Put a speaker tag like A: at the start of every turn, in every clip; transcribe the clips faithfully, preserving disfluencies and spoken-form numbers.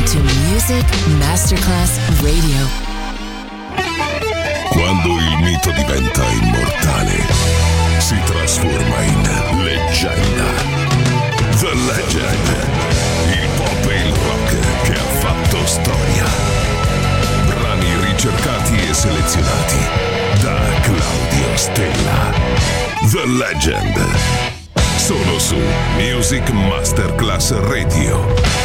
A: to Music Masterclass Radio.
B: Quando il mito diventa immortale, si trasforma in leggenda. The Legend, il pop e il rock che ha fatto storia. Brani ricercati e selezionati da Claudio Stella. The Legend, solo su Music Masterclass Radio.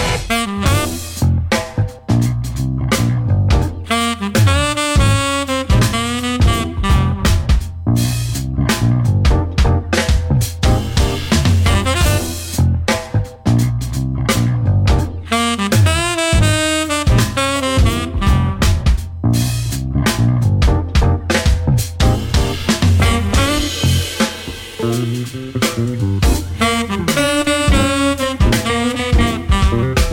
C: Thank you.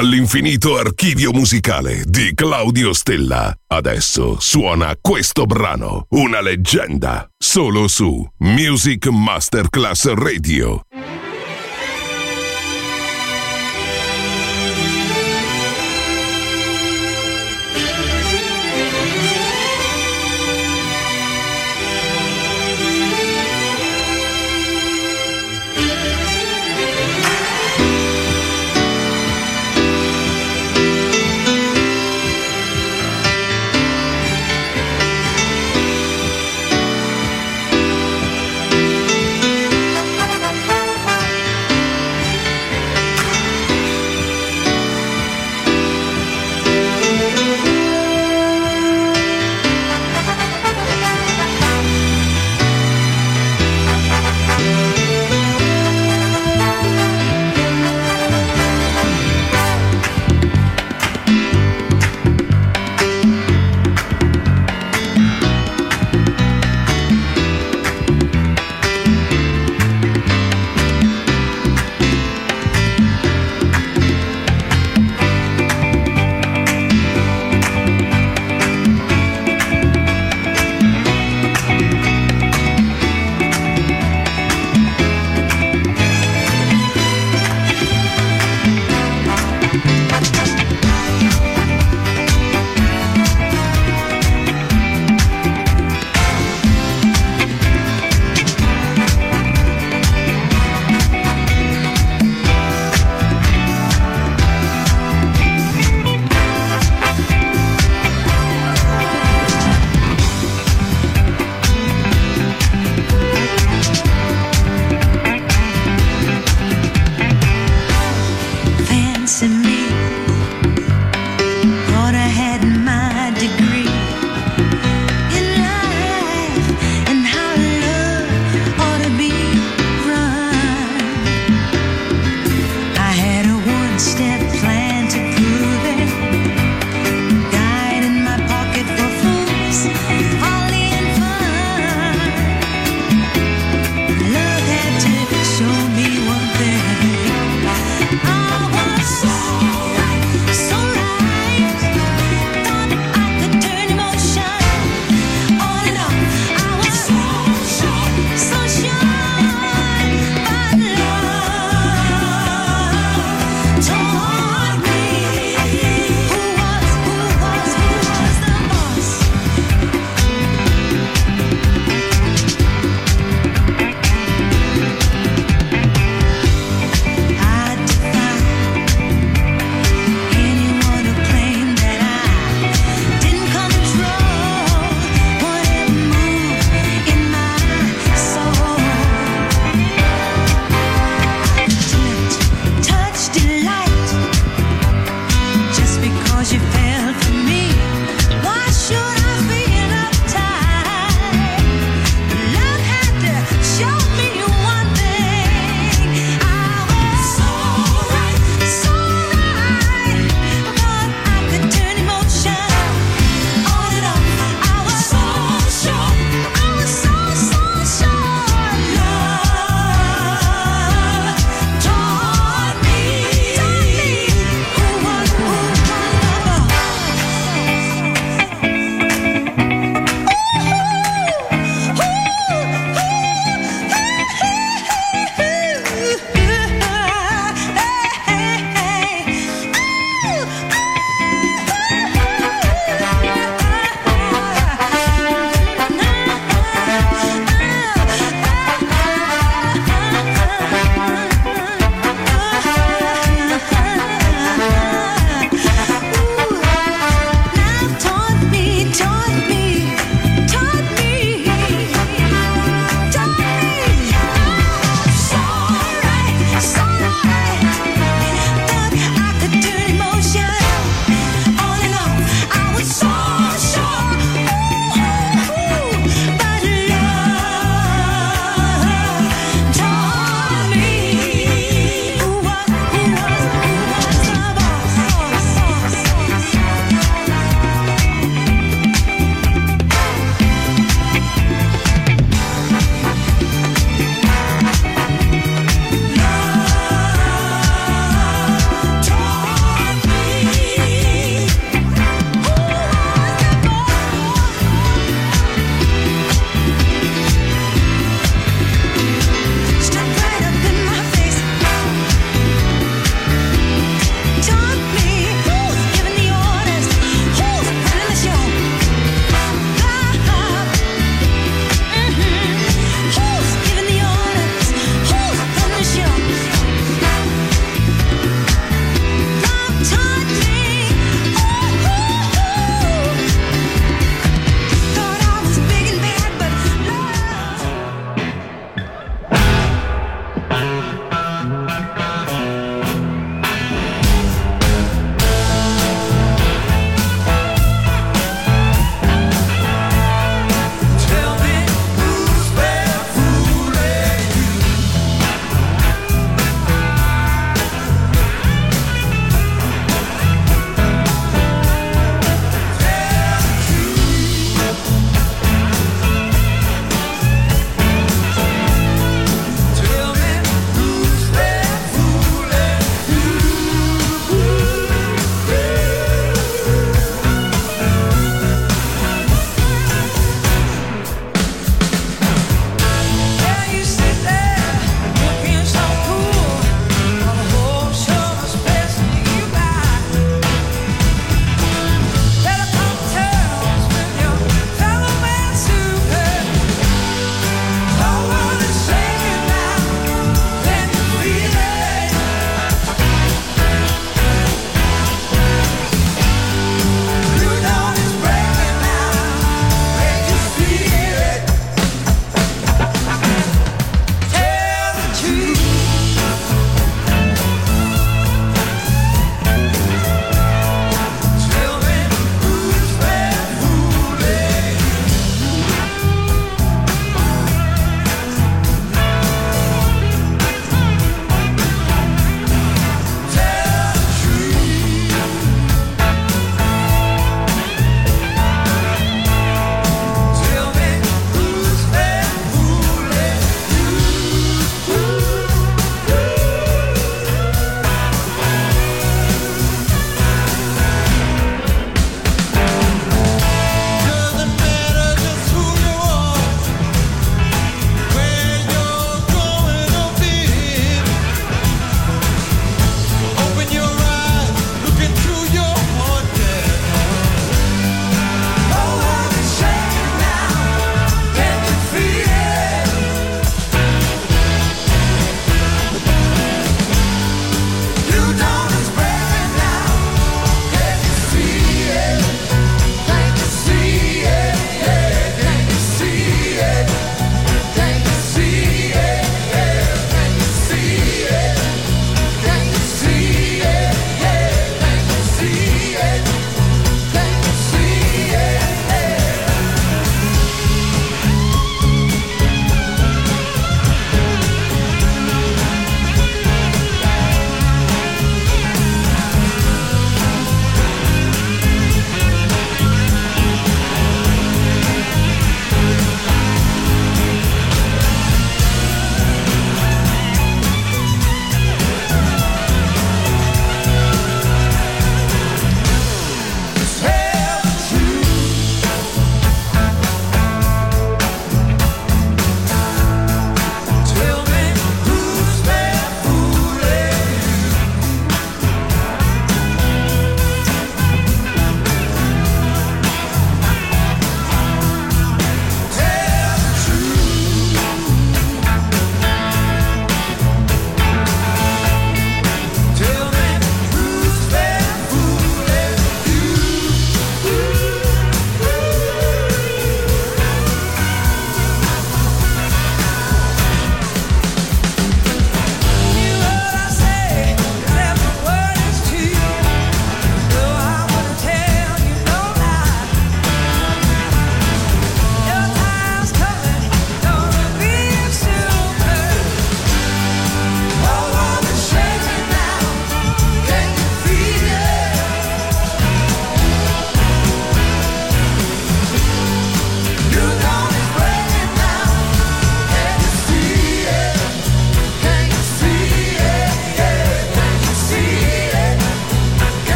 B: all'infinito archivio musicale di Claudio Stella. Adesso suona questo brano, una leggenda, solo su Music Masterclass Radio.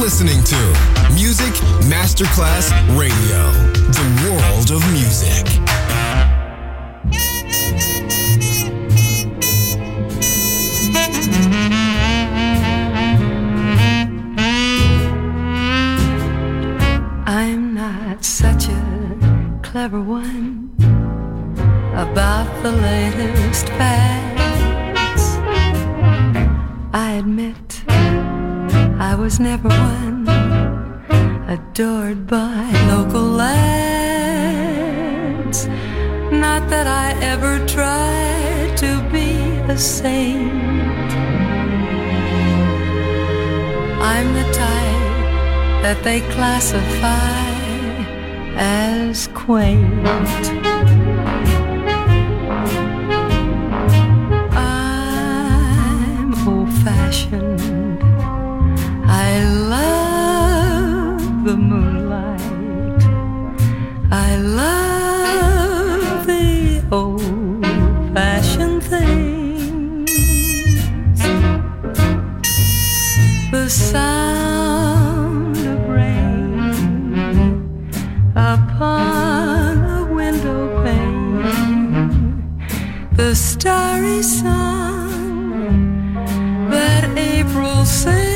C: listening to Music Masterclass Radio, the world of music.
D: I'm not such a clever one about the latest fads. I admit I was never one adored by local lads. Not that I ever tried to be a saint. I'm the type that they classify as quaint. I'm old-fashioned. I love the moonlight. I love the old-fashioned things. The sound of rain upon a window pane. The starry song that April sings.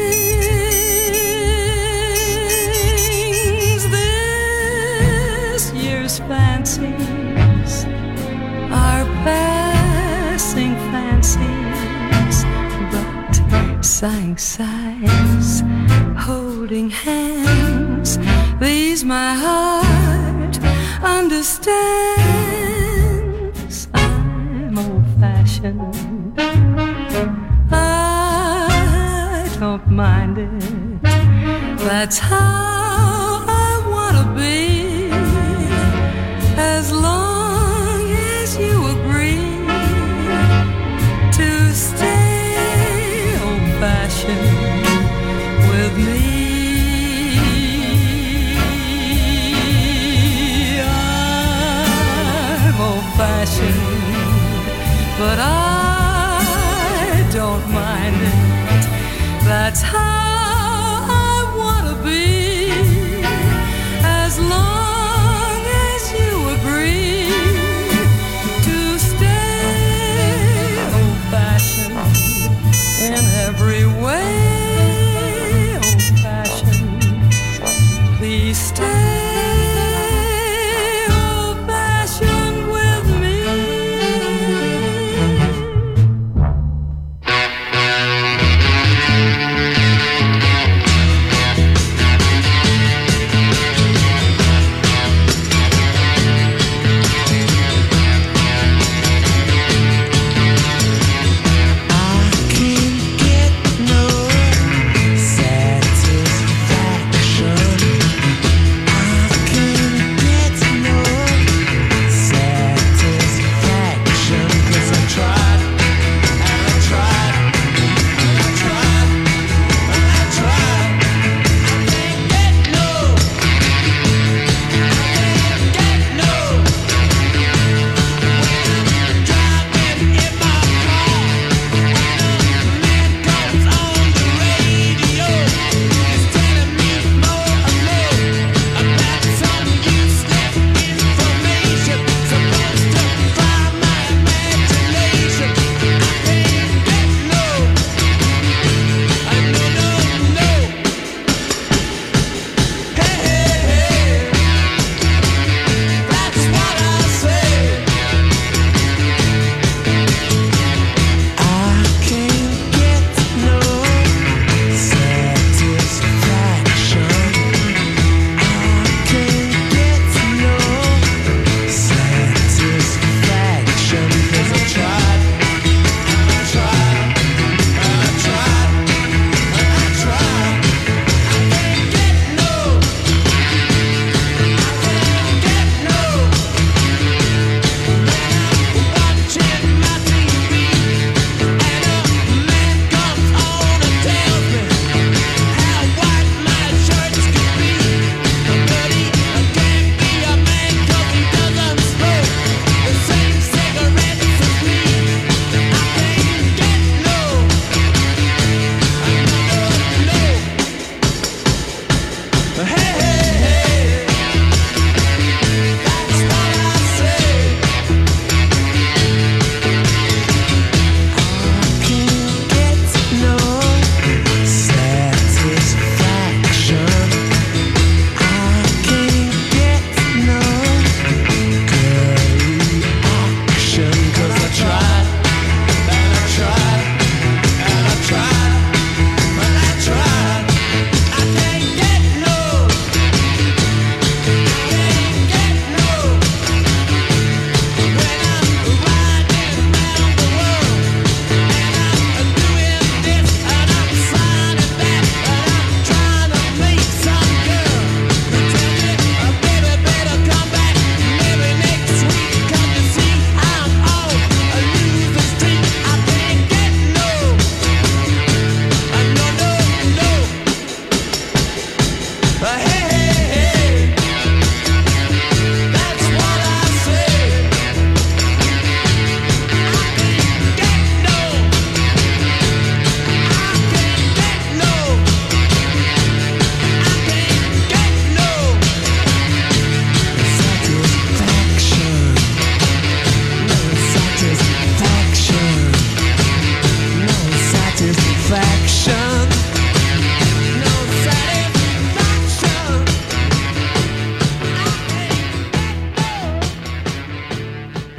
D: Fancies are passing fancies, but sighing sighs, holding hands, these my heart understands. I'm old-fashioned, I don't mind it, that's how I wanna be. As long as you agree to stay old-fashioned with me. I'm old-fashioned, but I don't mind it. That's how I wanna be. As long in every way, old-fashioned. Please stay old-fashioned with me.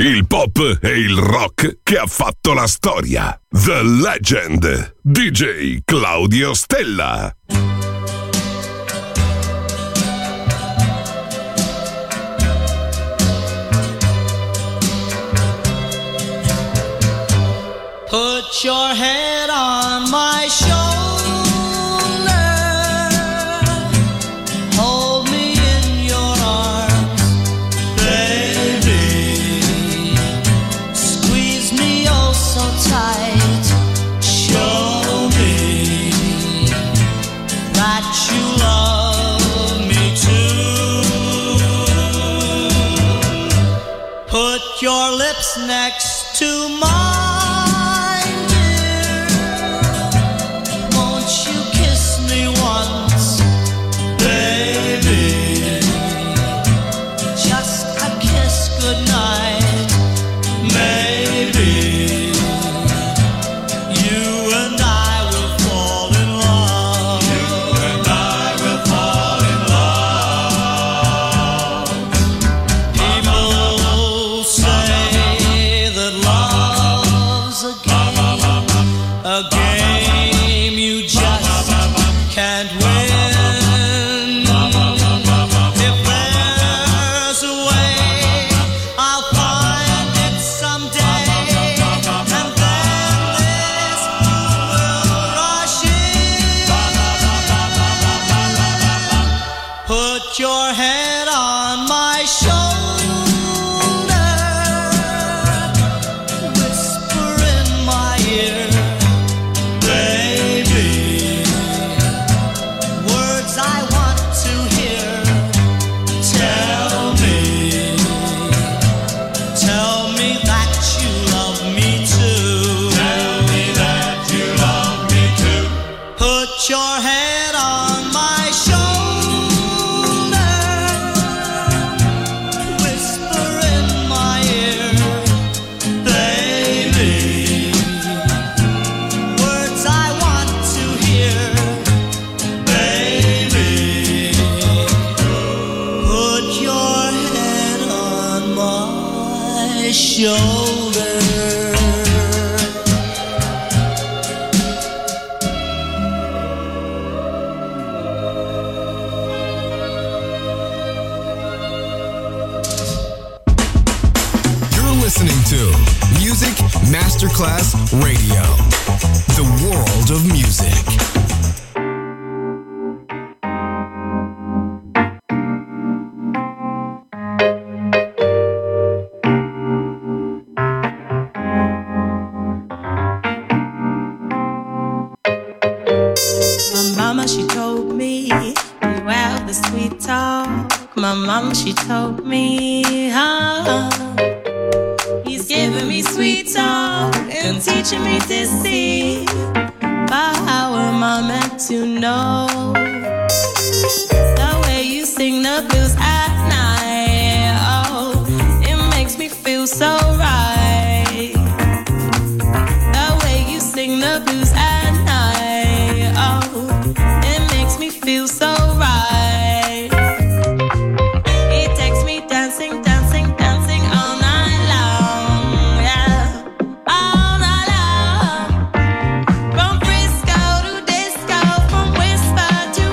B: il pop e il rock che ha fatto la storia. The Legend, D J Claudio Stella.
E: Put your head on my shoulder. Hold me in your arms, baby. Squeeze me oh so tight. Show me that you love me too. Put your lips next to mine.
C: Masterclass Radio, the world of music.
F: My mama, she told me, you have the sweet talk. My mama, she told me, oh, he's giving me sweet talk and teaching me to see. But how am I meant to know? The way you sing the blues at night, oh, it makes me feel so right. The way you sing the blues at night, oh, it makes me feel so right. It takes me dancing, dancing, dancing all night long, yeah, all night long. From Frisco to disco, from whisper to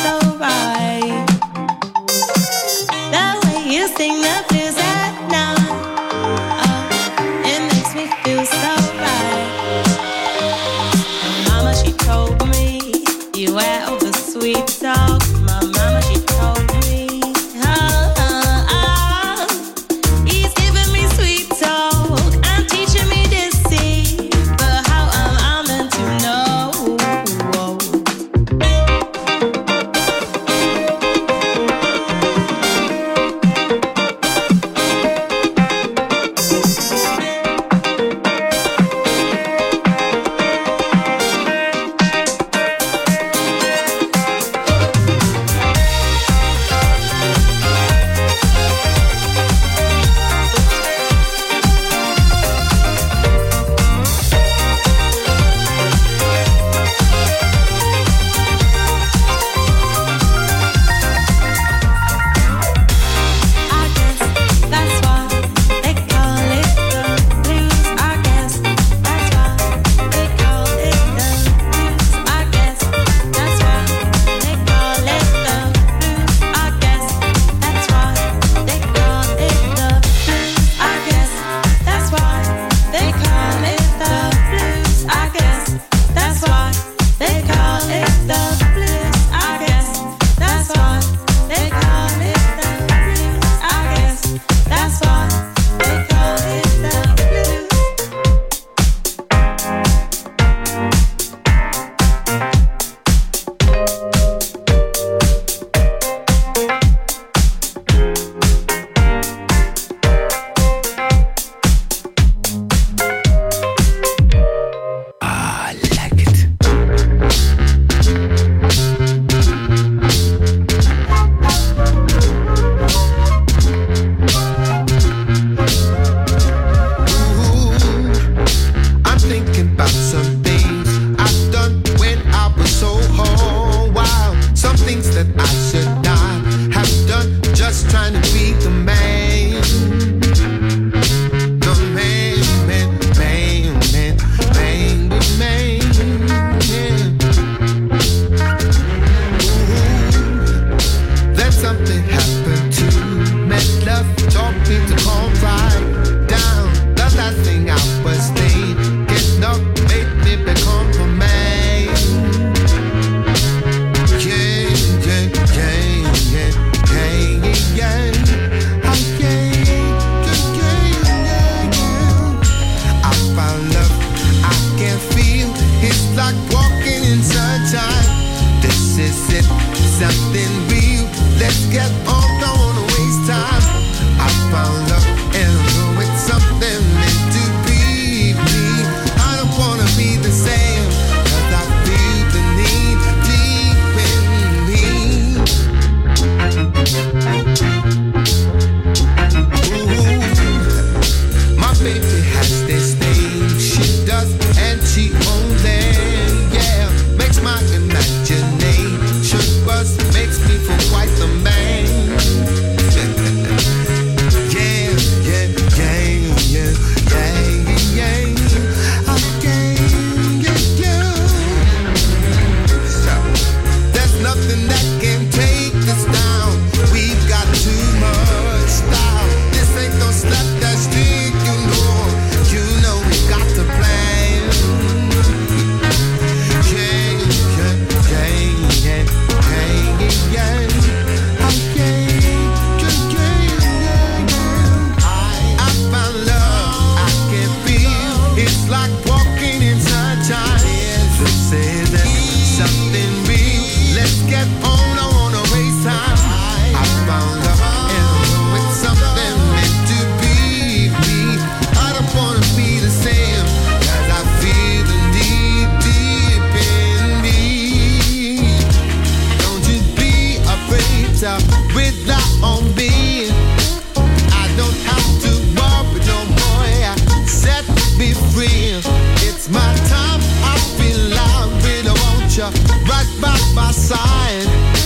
F: so right. The way you sing the blues at night, oh, it makes me feel so right. And mama, she told me you were over sweet talk. My mama, she told me, oh, oh, oh, he's giving me sweet talk and teaching me deceit, but how am I meant to know?
G: It's my time, I feel I really want you right by my side.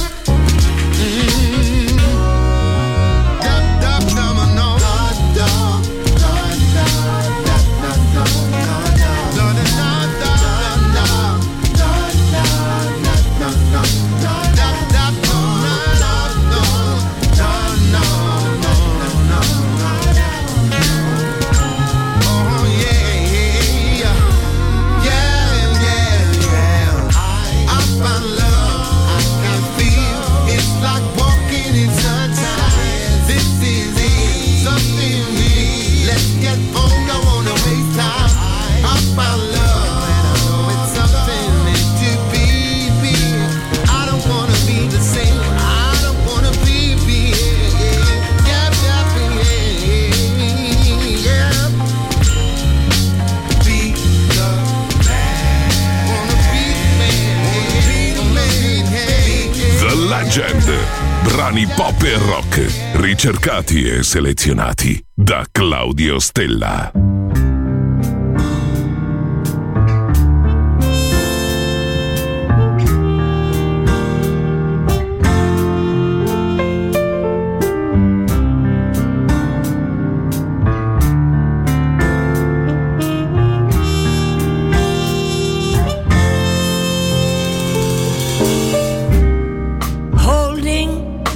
B: Legend. Brani pop e rock, ricercati e selezionati da Claudio Stella.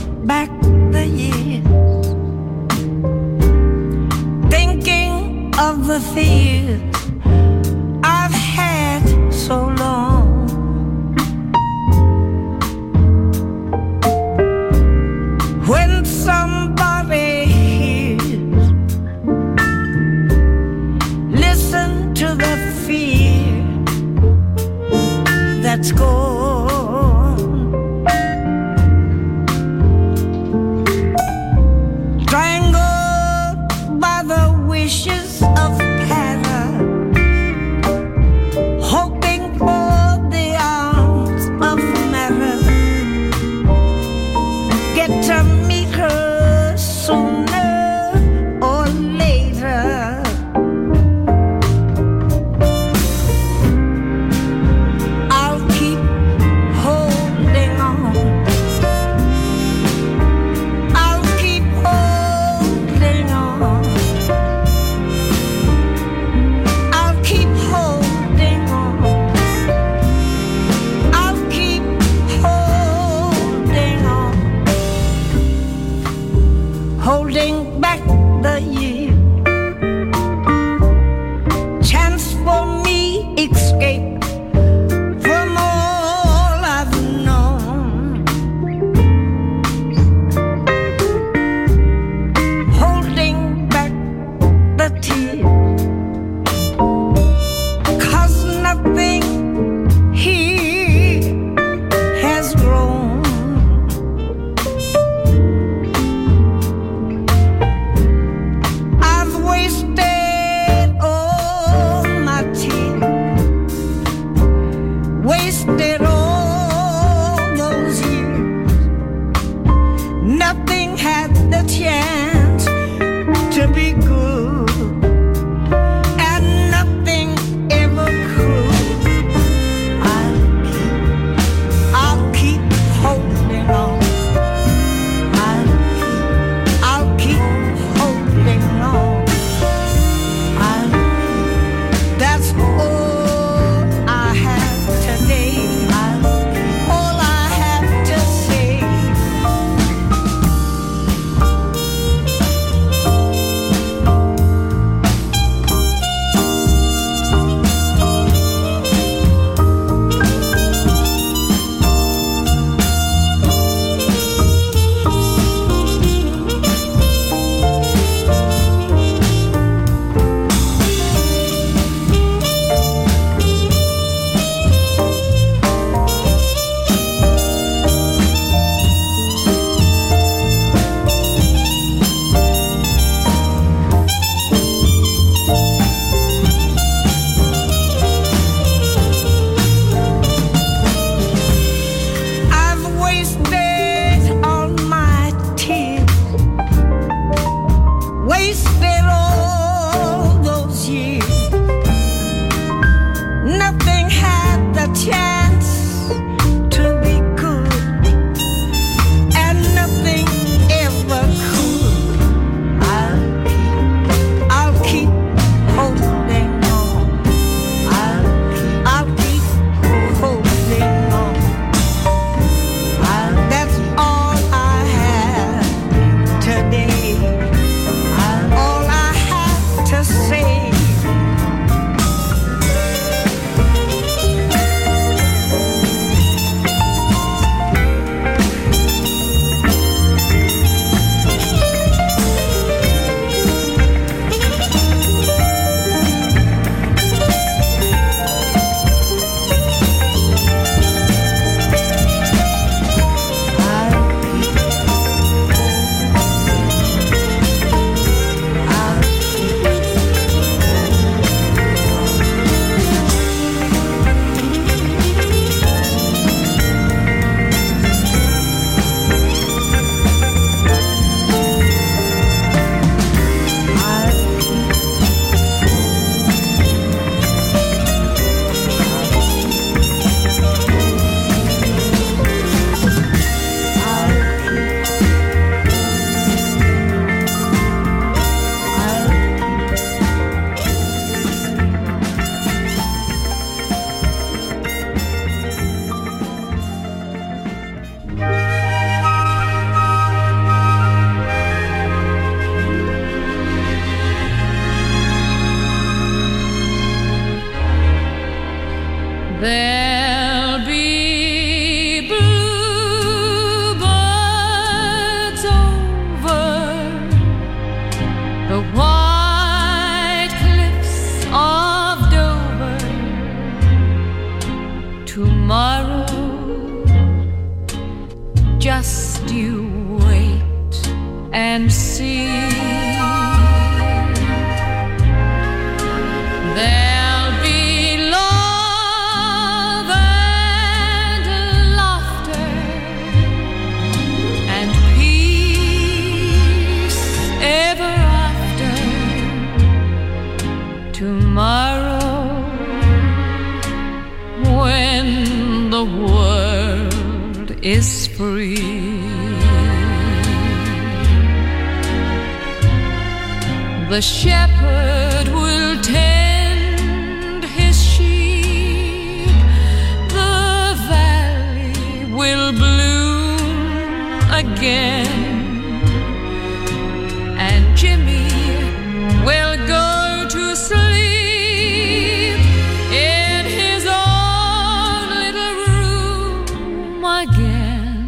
G: Of
D: just you wait and see. There'll be love and laughter and peace ever after. Tomorrow, when the world is free, the shepherd will tend his sheep, the valley will bloom again, and Jimmy will go to sleep in his own little room again.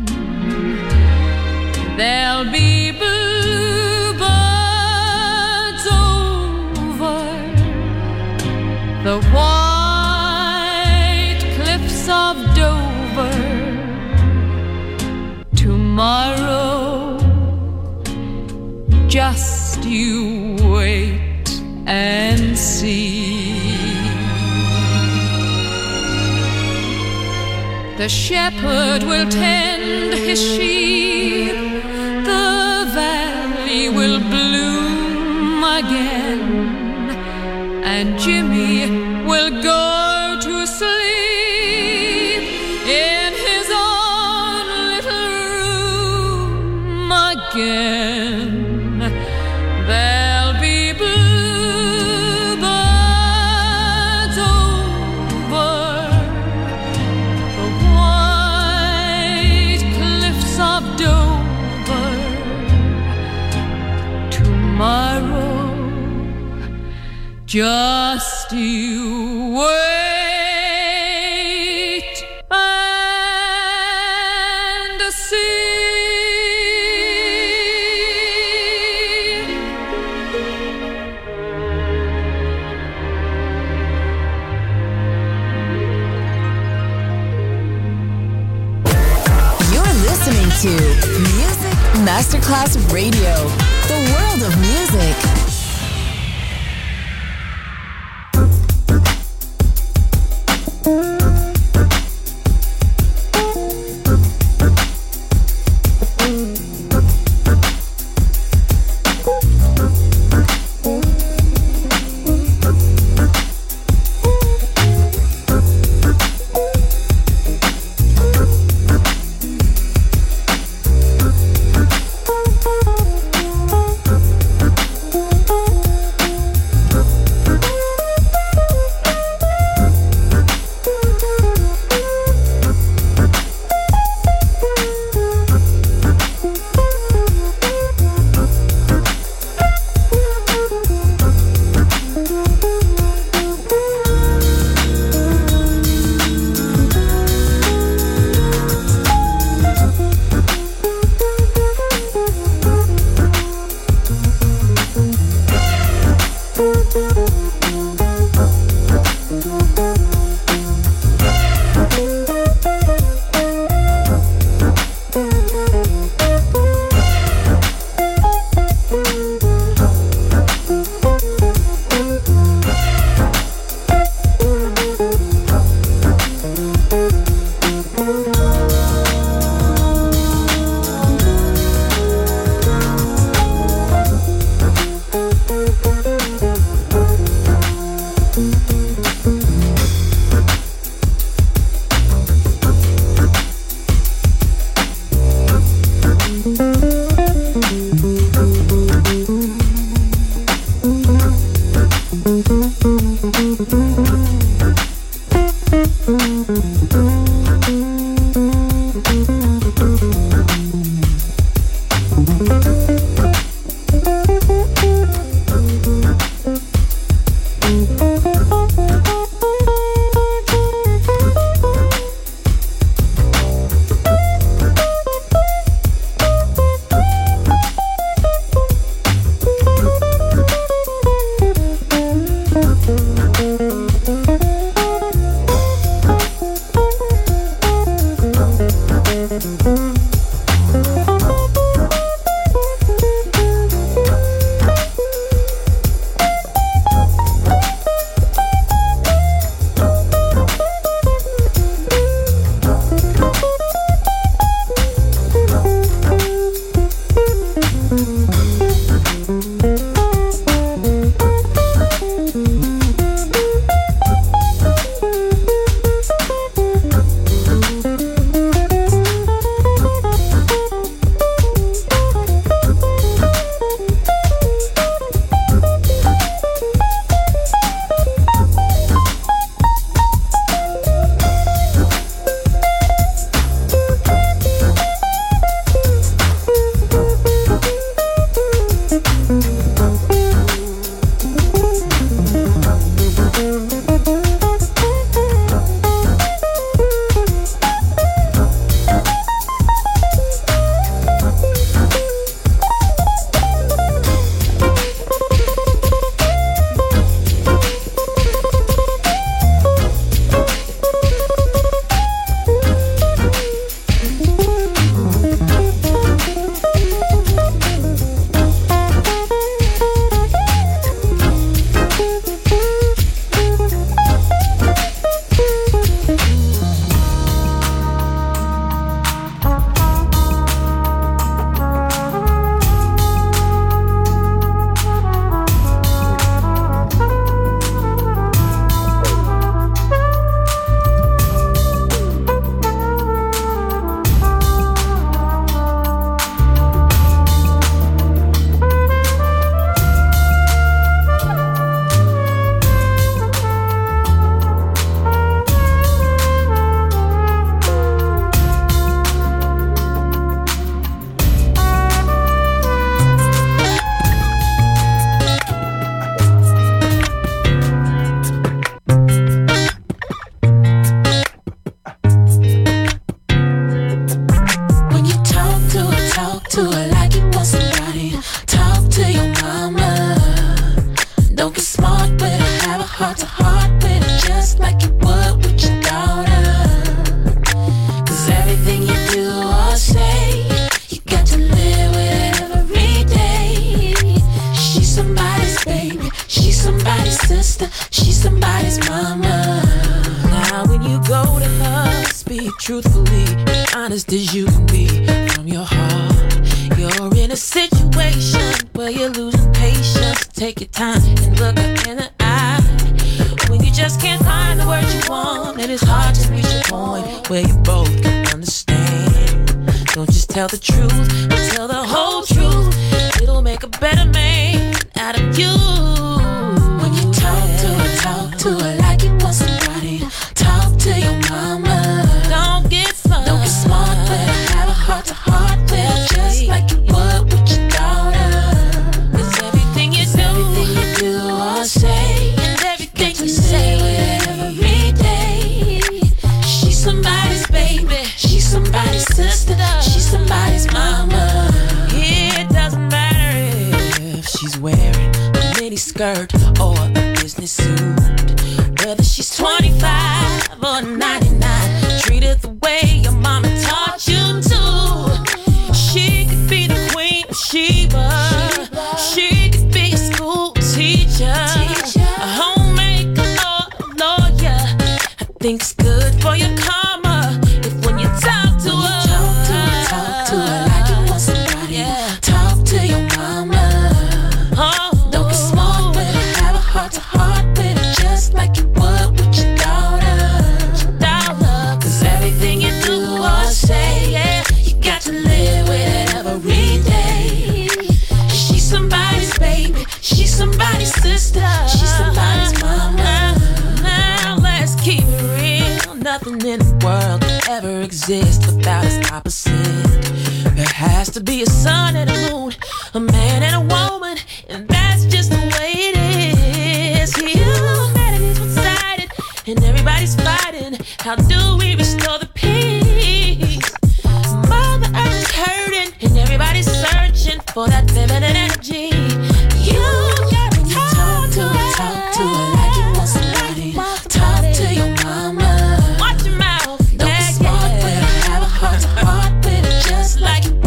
D: There'll be bluebirds over the white cliffs of Dover. Tomorrow, just you wait and see. The shepherd will tend his sheep, the valley will bloom again, and Jimmy will go to sleep in his own little room again. There'll be bluebirds over the white cliffs of Dover. Tomorrow, just you wait and see.
A: To Music Masterclass Radio, the world of music.
G: We'll be right back. truthfully, honest as you can be from your heart. You're in a situation where you're losing patience. Take your time and look her in the eye. When you just can't find the words you want, and it's hard to reach a point where you both can understand. Don't just tell the truth, but tell the whole truth. It'll make a better man out of you. When you talk to her, talk to her like you want somebody. Talk to your mama. Don't get smart, don't get smart, but have a heart to heart with her, just like you would with your daughter. 'Cause everything you do, everything you do or say, and everything you say with every day. She's somebody's baby, she's somebody's sister, she's somebody's mama. It doesn't matter if she's wearing a mini skirt or a business suit, whether she's twenty-five or ninety-nine. Treat her the way your mama taught you to. She could be the queen of Sheba. She could be a school teacher, a homemaker or a lawyer. I think it's good for your karma if when you talk to her, talk to her, talk to her like you want somebody. Yeah. Talk to your mama. Oh, don't get smart, but have a heart to heart with her, just like you would with your daughter. Daughter, 'cause everything you do or say, yeah, you got to live with it every day. She's somebody's baby, she's somebody's sister, she's somebody's mama. Now let's keep it real. Nothing in the world can ever exist without its opposite. There has to be a sun and a moon, a man and a woman, and that's just the way it is. Humanity's one-sided, and everybody's fighting. How do we restore the peace? Mother Earth is hurting, and everybody's searching for that feminine energy. You gotta talk to her, talk to her like you want somebody. Talk to your mama. Watch your mouth. Don't be smart, but have a heart to heart with her, just like you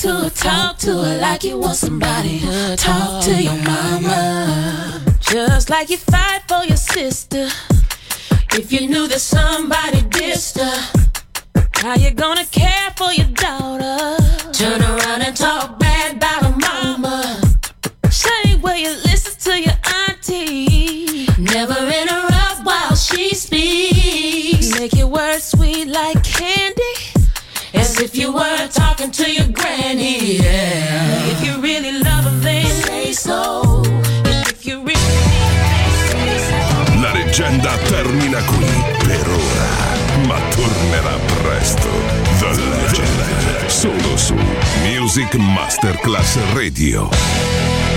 G: to her, talk to her like you want somebody to talk to your mama. Just like you fight for your sister. If you knew that somebody dissed her, how you gonna care for your daughter? Turn around and talk bad about her mama. Same way you listen to your auntie. Never interrupt while she speaks. Make your words sweet like candy, as if you were talking to your granny. Yeah. If you really love her, then say so. If you really say so.
B: La leggenda termina qui per ora, ma tornerà presto. The Legend, solo su Music Masterclass Radio.